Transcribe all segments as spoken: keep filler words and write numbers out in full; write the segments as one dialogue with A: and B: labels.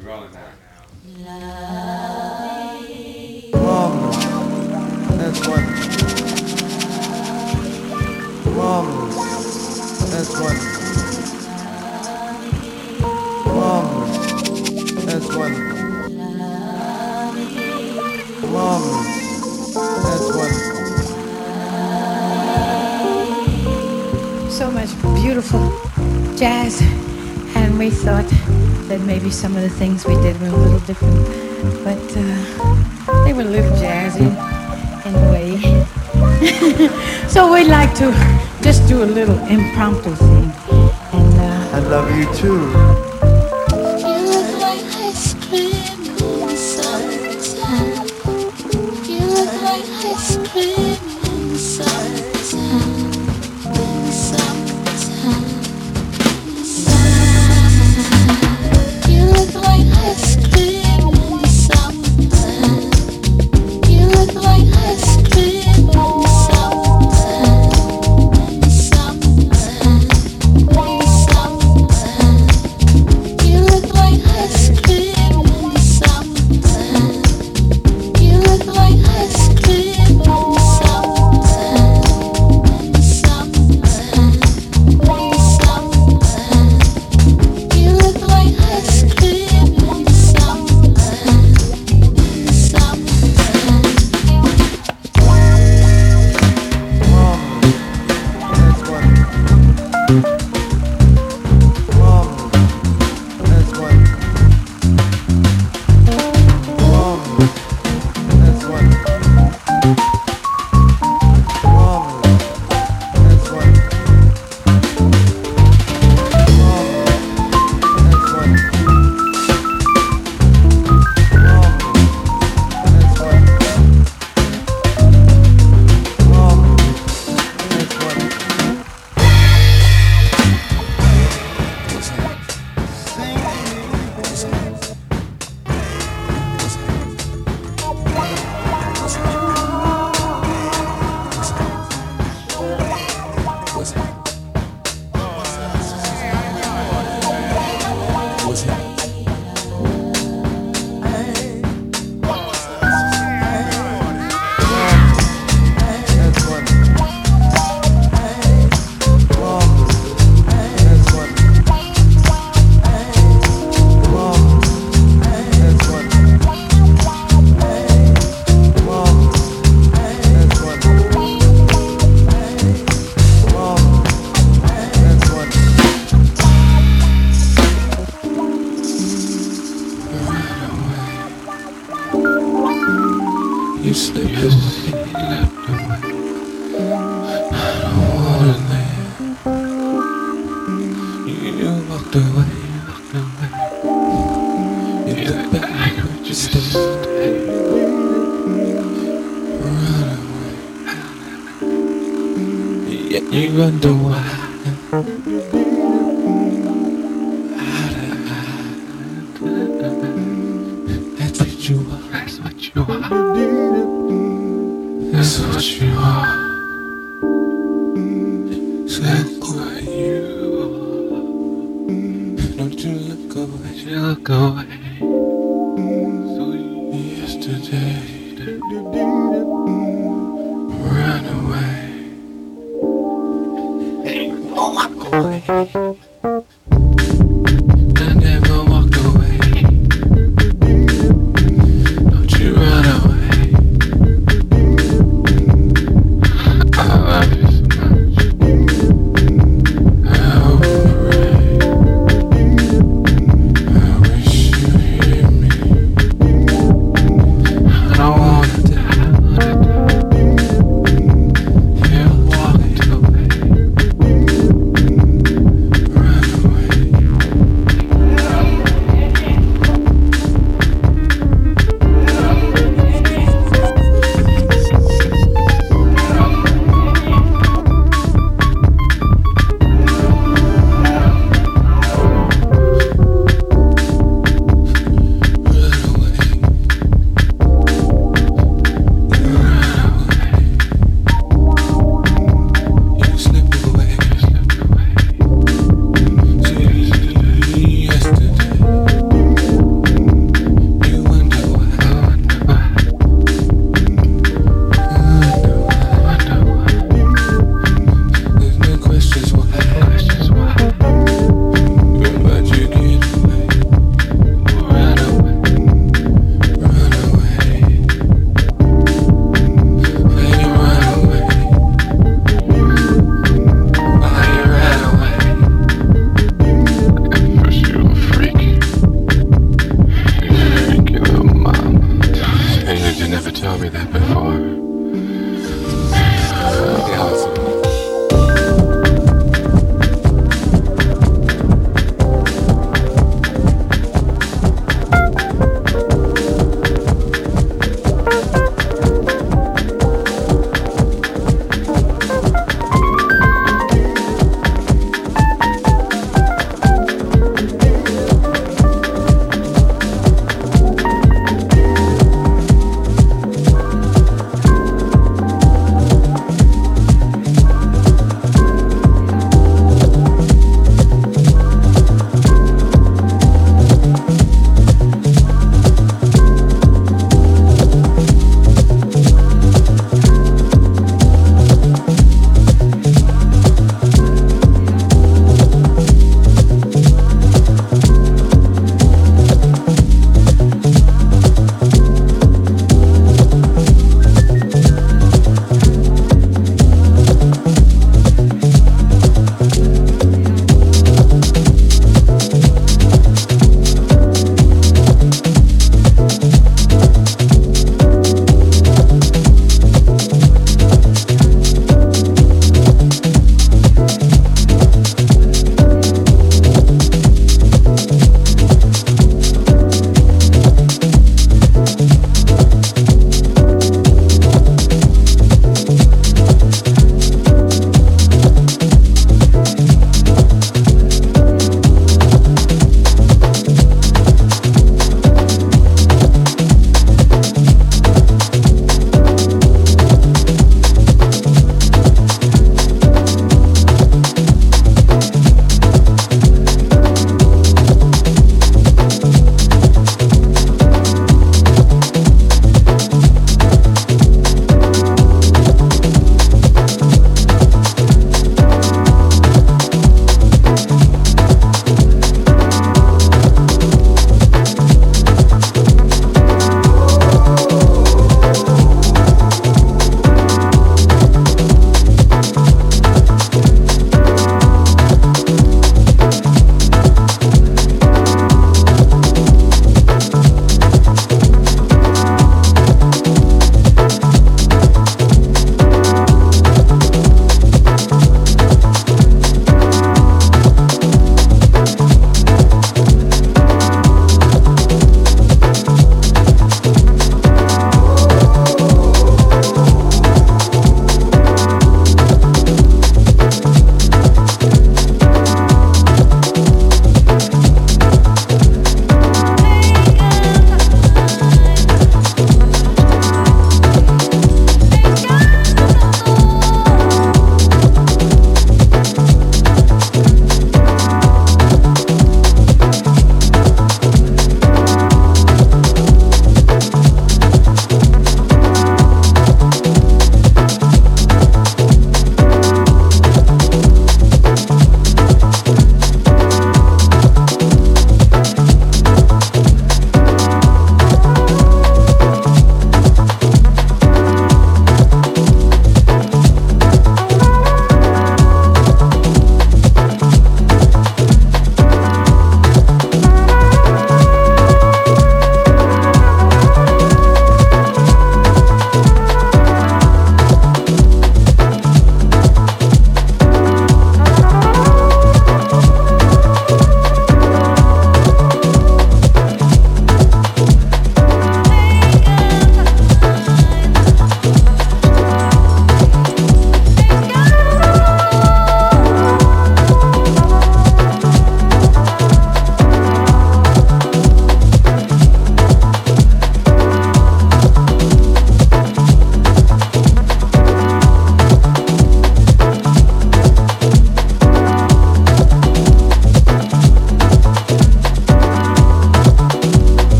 A: Marvelous. That's wonderful. Marvelous. That's wonderful. Marvelous. That's wonderful. Marvelous. That's wonderful.
B: So much beautiful jazz, and we thought that maybe some of the things we did were a little different, but uh, they were a little jazzy in a way. So we'd like to just do a little impromptu thing. And uh,
A: I love you too.
C: You look like ice cream in the summertime. You look like ice cream in the summertime. In the summertime. In the summertime. You look like ice cream in the summertime. You look like ice cream in the summertime. In the summertime. In the summertime. You look like ice cream in the summertime. You look like ice cream in the summertime. In the summertime. In the summertime. You look like ice cream in the summertime. In the summertime.
A: Marvelous. That's wonderful. Marvelous. That's wonderful. Marvelous. That's wonderful. Marvelous. That's wonderful. Marvelous. That's wonderful.
D: You slipped away, left away. I don't wanna live. You walked away, walked away. You look back, but you still stay. Run away. Yet you wonder why. That's what you are, that's what you are. That's what you are. That's what you are. Don't you look away, you look away. So yesterday, run away. Hey, don't walk away. I never walk away. Don't you run away. I love you so much. I pray. I wish you hear me. I don't wanna die, wanna die. You walked away.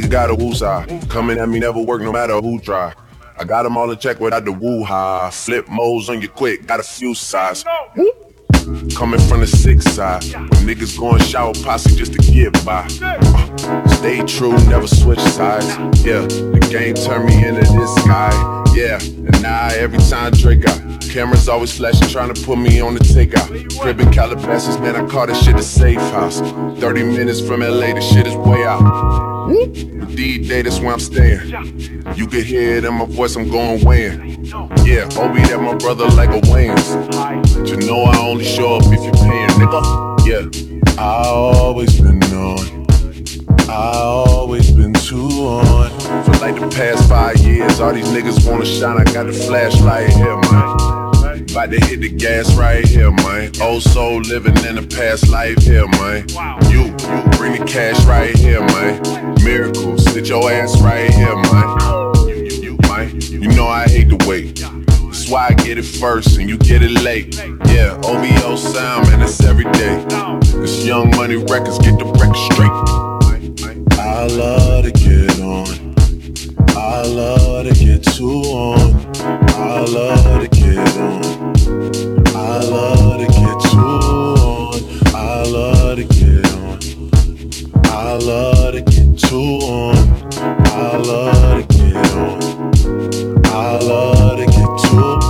E: got a woosah. Coming at me never work no matter who try. I got them all in check without the woo-ha. Flip modes on you quick, got a few sides. Coming from the six side, when niggas going shower posse just to get by. Uh, stay true, never switch sides. Yeah, the game turned me into this guy. Yeah, and now every time Drake out, cameras always flashing, trying to put me on the takeout. Crib in Calabasas, man, I call this shit a safe house. thirty minutes from L A, the shit is way out. D-Day, that's where I'm staying. You can hear it in my voice, I'm going weighing. Yeah, Obi, that my brother like a Wayne's. But you know I only show up if you're paying, nigga. Yeah, I always been on. I always been too on. For like the past five years, all these niggas wanna shine. I got the flashlight here, man. About to hit the gas right here, man. Old soul living in a past life here, man. You, you bring the cash right here, man. Miracles, sit your ass right here, man. You, you, you, man. You know I hate to wait. That's why I get it first and you get it late. Yeah, O V O sound, man, that's every day. This Young Money Records, get the record straight. I love to get on. I love to get too on. I love to get on. I love to get too on. I love to get on. I love to get too on. I love to get on. I love to get too on.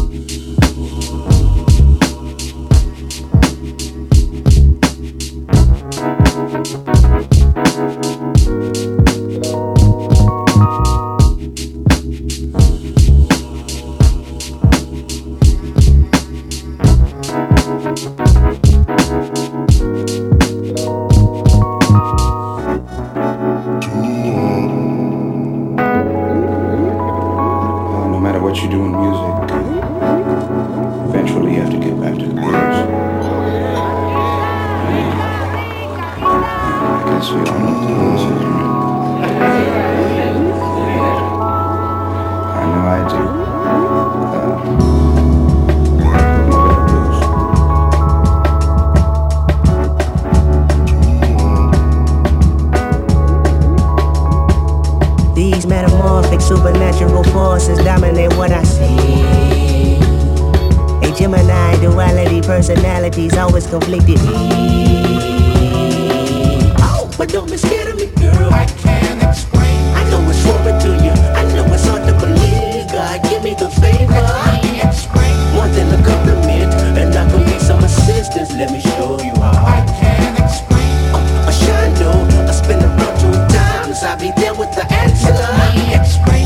F: Supernatural forces dominate what I see. A Gemini duality, personalities always conflicted. Oh, but don't be scared of me, girl. I can't explain. I know it's foreign to you. I know it's hard to believe. God, give me the favor. I can't explain. More than a compliment, and I can need some assistance. Let me show you how. I can't explain. Uh, a shine, I spin around two times. I'll be there with the answer. Let me explain.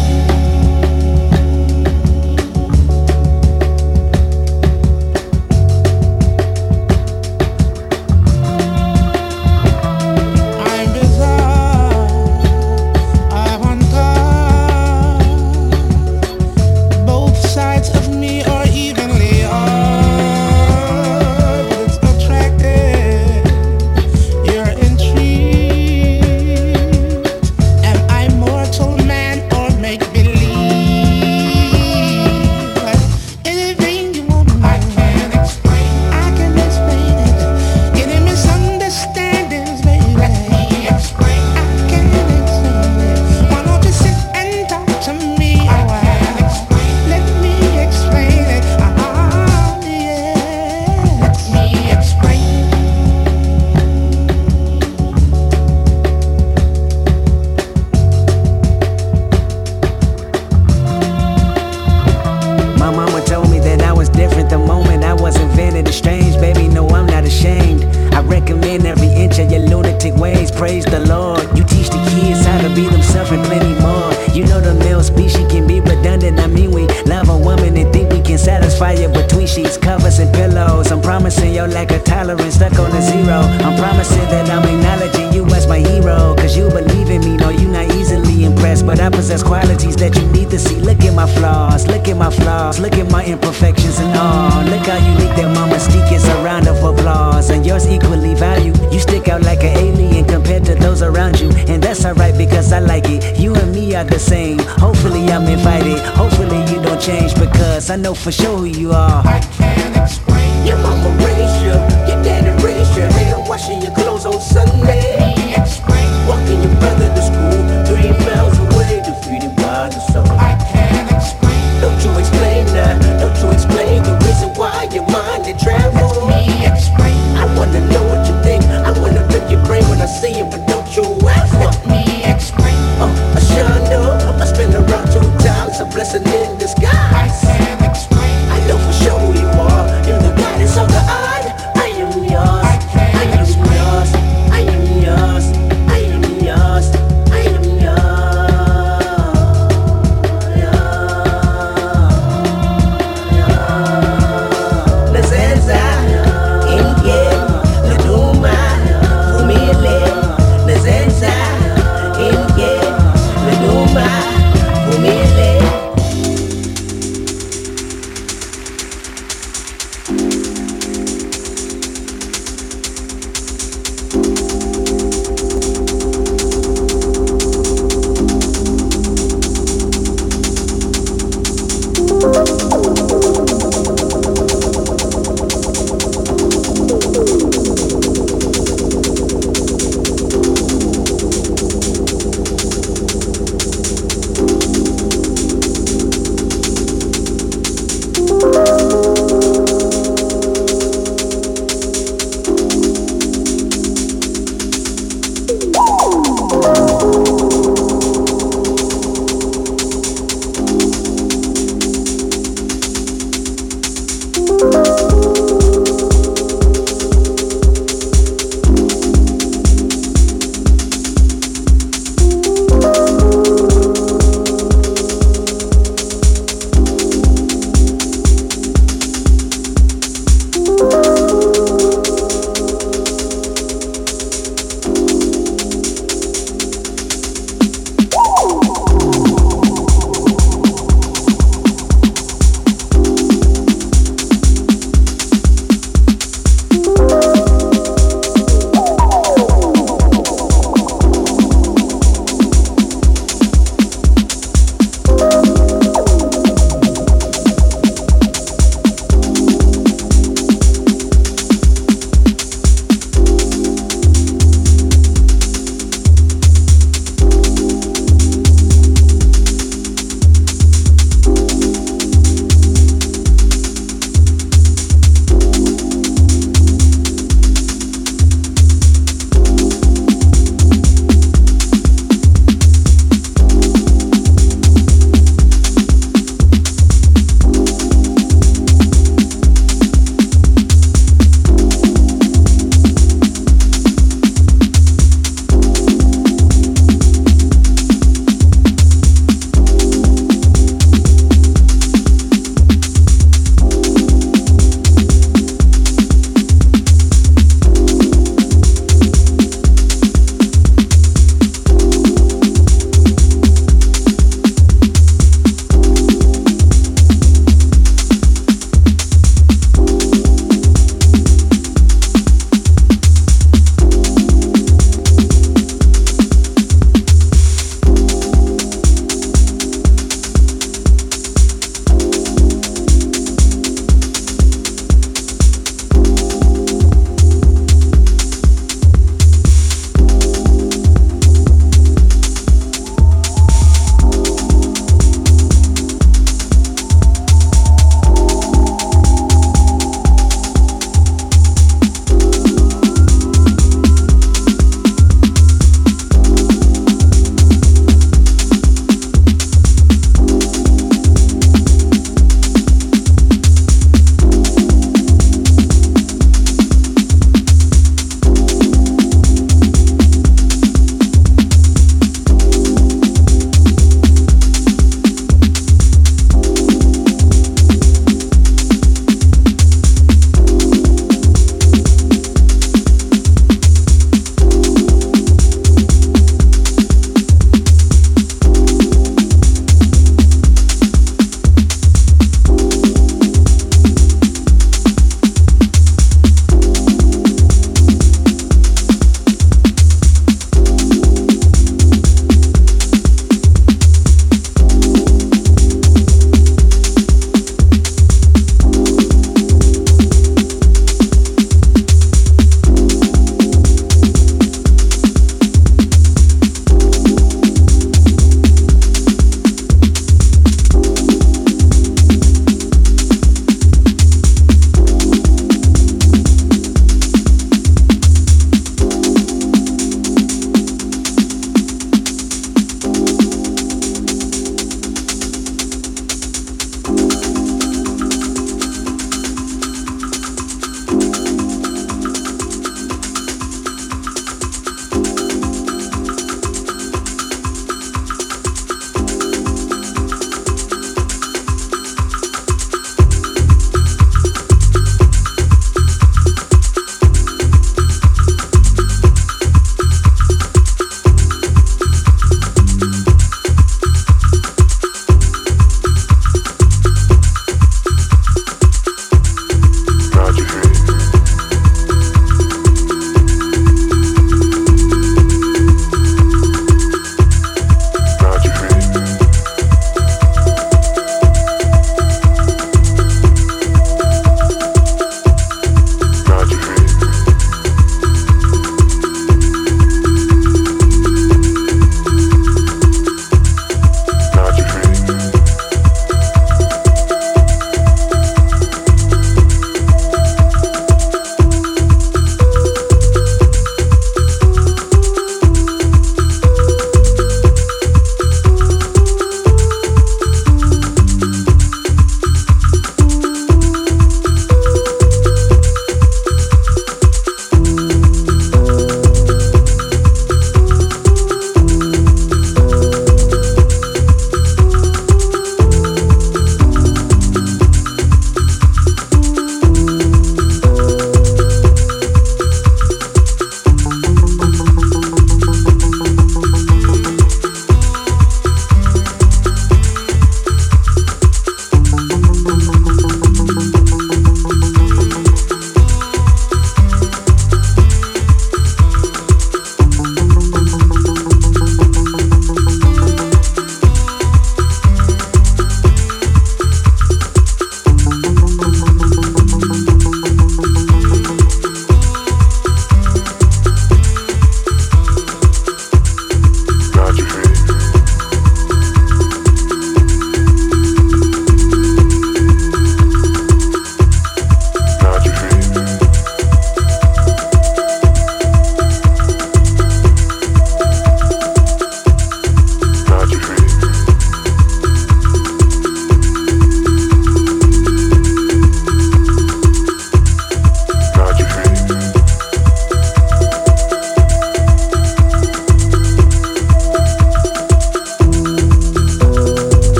F: Praise the Lord. You teach the kids how to be themselves and plenty more. You know the male species can be redundant. I mean we love a woman and think we can satisfy you between sheets, covers and pillows. I'm promising your lack of tolerance stuck on a zero. I'm promising that I'm acknowledging you as my hero. Cause you believe in me, no you not easily impressed. But I possess qualities that you need to see. Look at my flaws, look at my flaws, look at my imperfections and all. Look how unique that my mystique is, a round of applause. And yours equally valued. You stick out like an alien compared to those around you. And that's alright because I like it. You and me are the same. Hopefully I'm invited. Hopefully you don't change because I know for sure who you are. I can't explain. Your mama raised you, your daddy raised you. Hair washing your clothes on Sunday. Walking your brother to school, do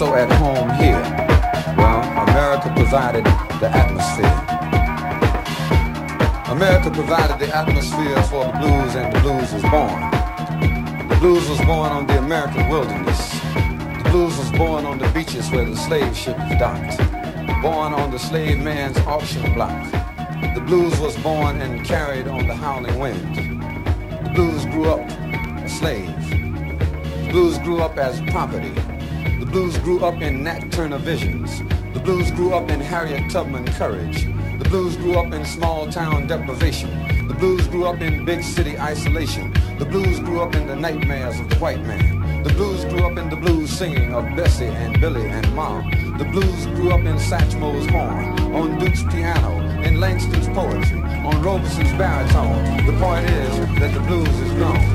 G: so at home here? Well, America provided the atmosphere. America provided the atmosphere for the blues, and the blues was born. The blues was born on the American wilderness. The blues was born on the beaches where the slave ship was docked. Born on the slave man's auction block. The blues was born and carried on the howling wind. The blues grew up a slave. The blues grew up as property. The blues grew up in Nat Turner visions. The blues grew up in Harriet Tubman courage. The blues grew up in small town deprivation. The blues grew up in big city isolation. The blues grew up in the nightmares of the white man. The blues grew up in the blues singing of Bessie and Billy and Mom. The blues grew up in Satchmo's horn, on Duke's piano, in Langston's poetry, on Robeson's baritone. The point is that the blues is gone.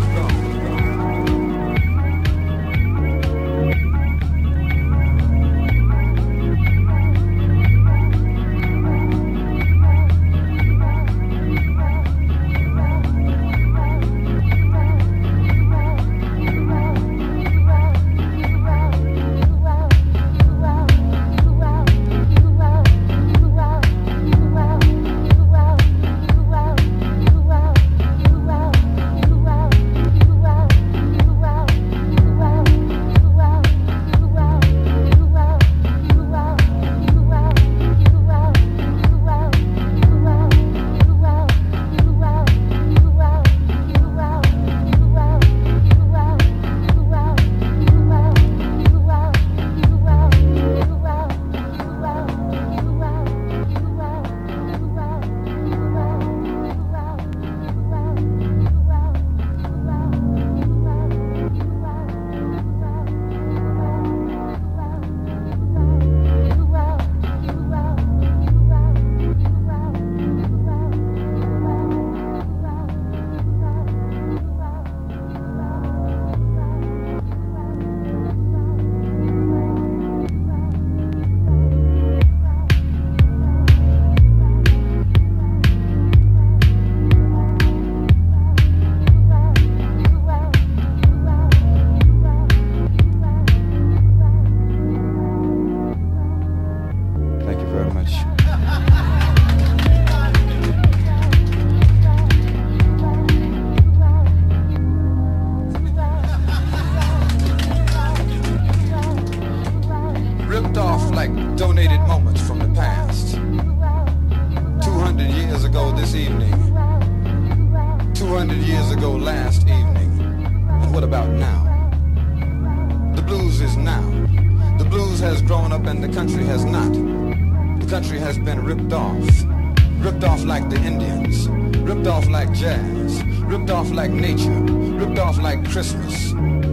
G: Christmas,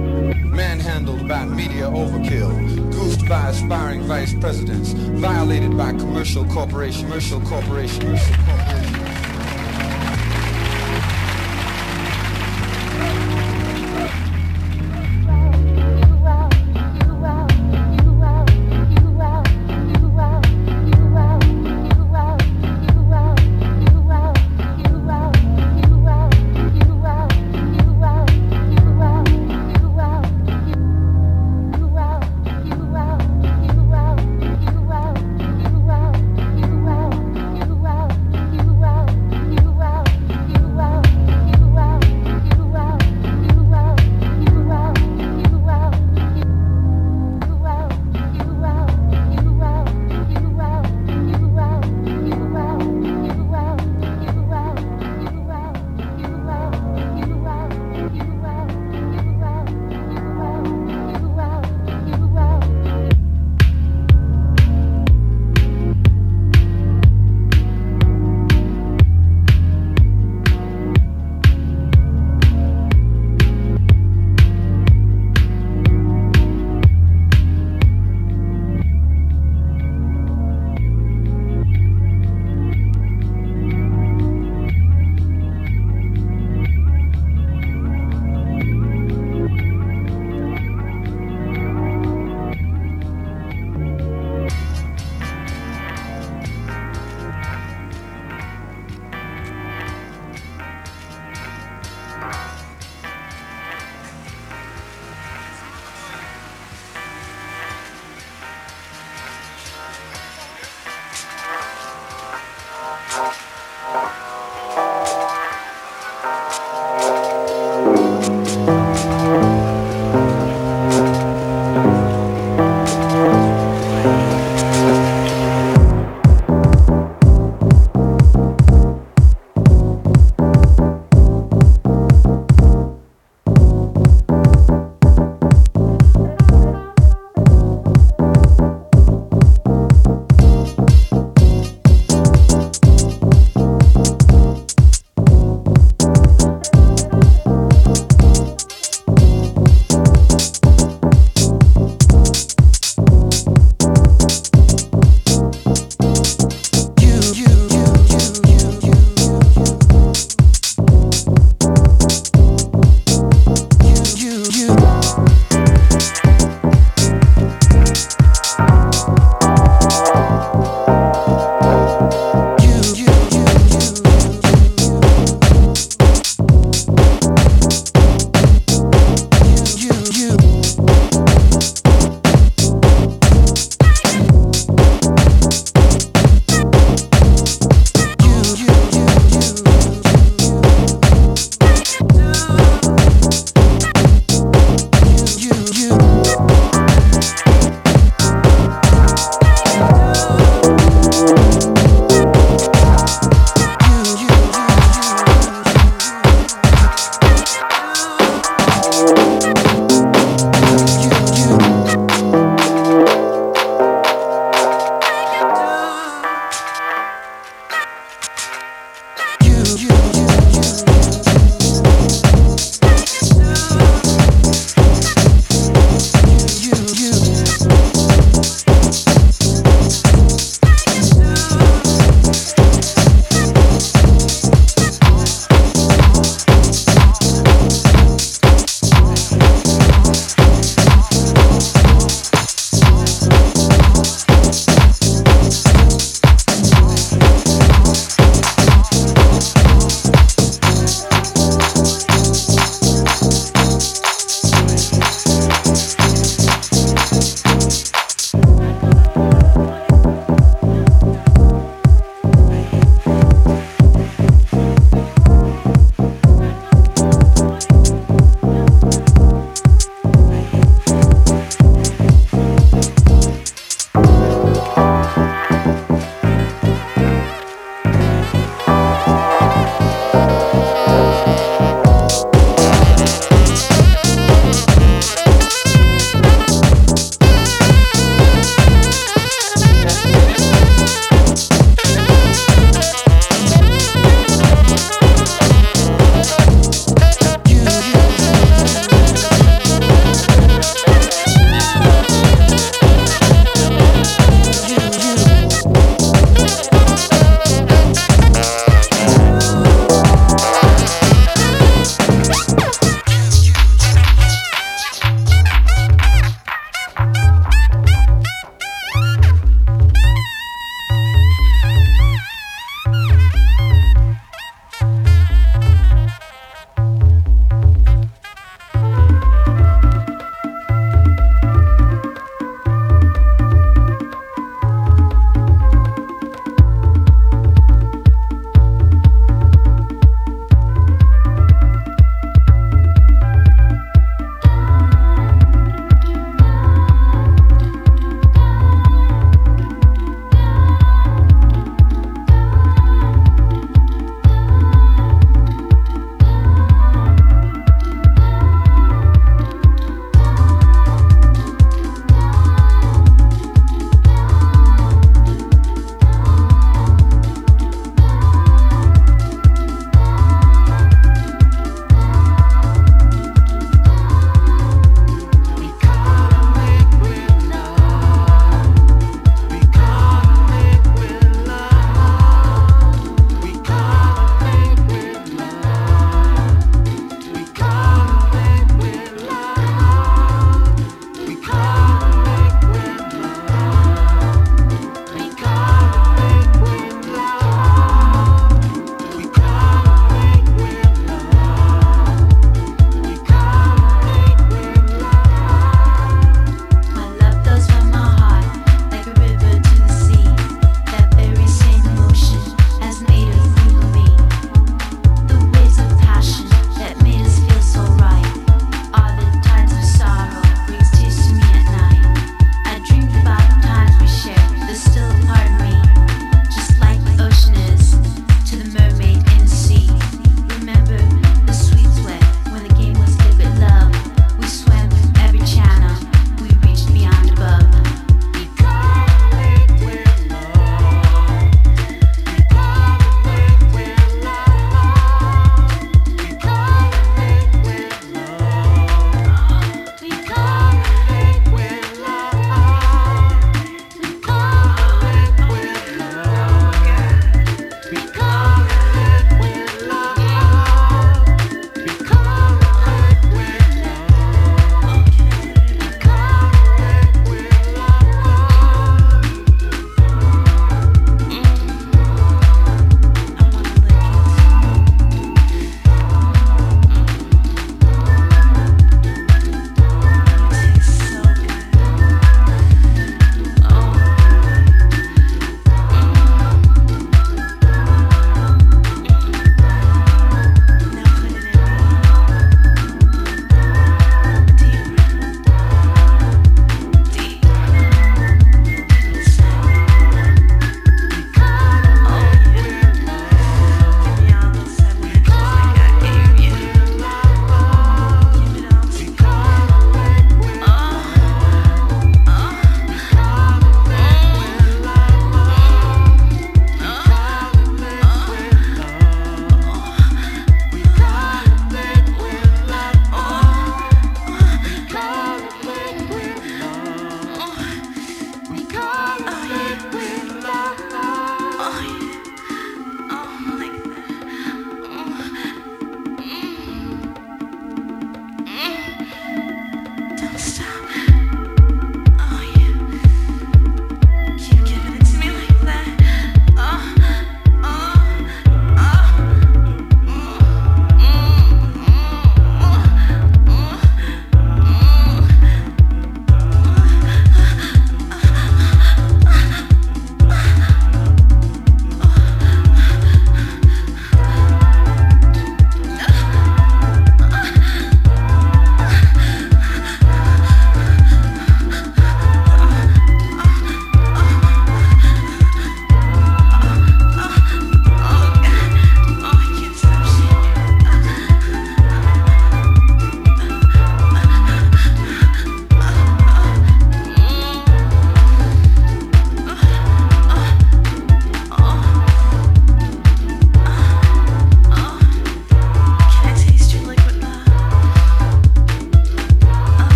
G: manhandled by media overkill, goofed by aspiring vice presidents, violated by commercial corporation, commercial corporation, commercial corporation.
C: Wow.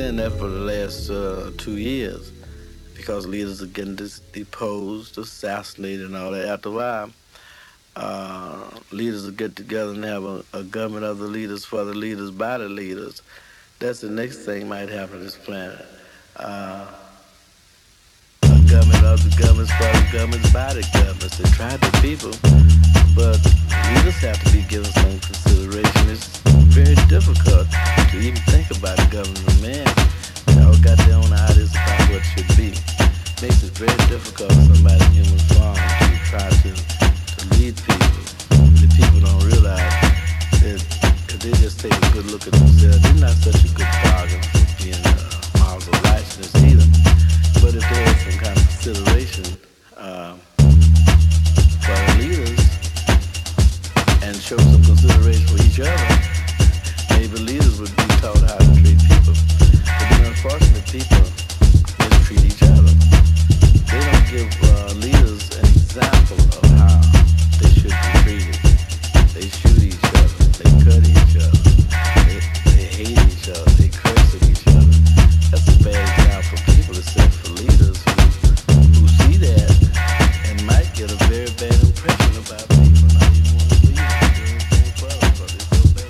H: saying that for the last uh, two years because leaders are getting dis- deposed, assassinated, and all that. After a while, uh, leaders will get together and have a, a government of the leaders for the leaders by the leaders. That's the next thing might happen on this planet. Uh, a government of the governments for the governments by the governments. They tried the people, but leaders have to be given some consideration. It's very difficult to even think about government. Man, they all got their own ideas about what should be. Makes it very difficult for somebody in human form to try to, to lead people. The people don't realize that if they just take a good look at themselves, they're not such a good bargain for being uh, models of righteousness either. But if there is some kind of consideration uh, for the leaders and show some consideration for each other, maybe leaders would be taught how to treat people. But then unfortunately, people mistreat each other. They don't give uh, leaders an example of how they should be treated. They shoot each other. They cut each other. They, they hate each other. They curse at each other. That's a bad example for people to set for leaders who, who see that and might get a very bad impression about people. Not even want to lead them, do anything for them, but it's so bad.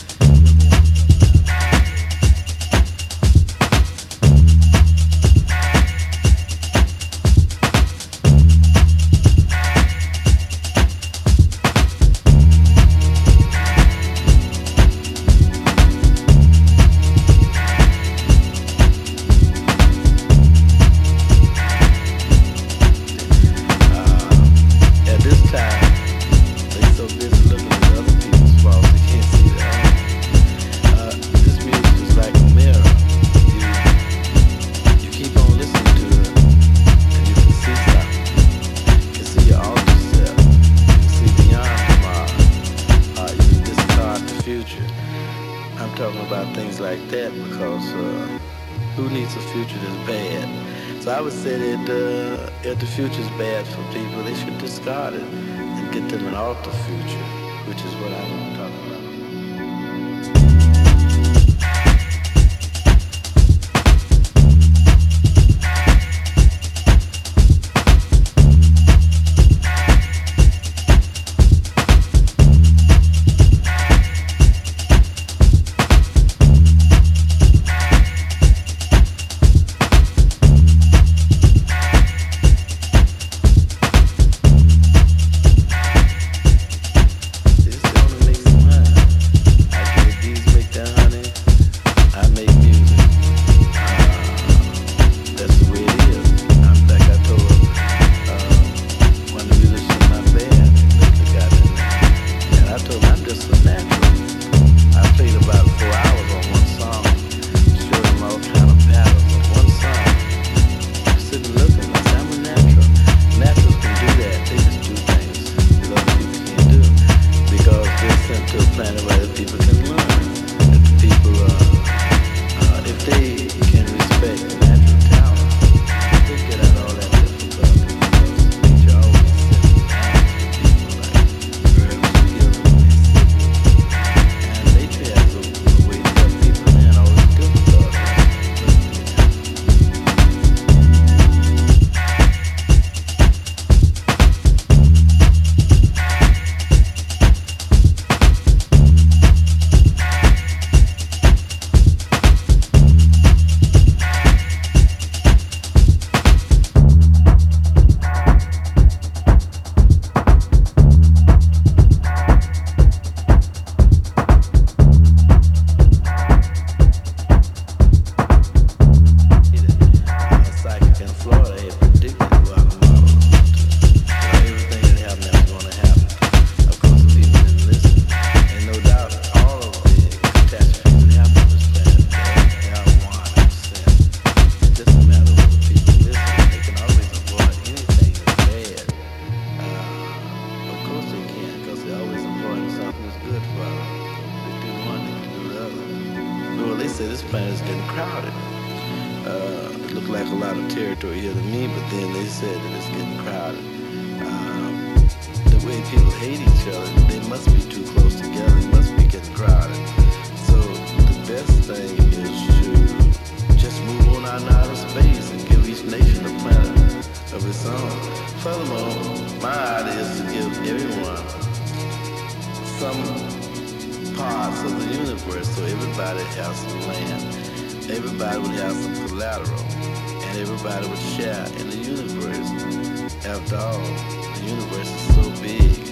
H: If the future's bad for people, they should discard it and get them an alter future, which is what I want to talk about. Say this planet is getting crowded. Uh, it looked like a lot of territory here to me, but then they said that it's getting crowded. Um, the way people hate each other, they must be too close together. It must be getting crowded. So the best thing is to have some land. Everybody would have some collateral, and everybody would share in the universe. After all, the universe is so big.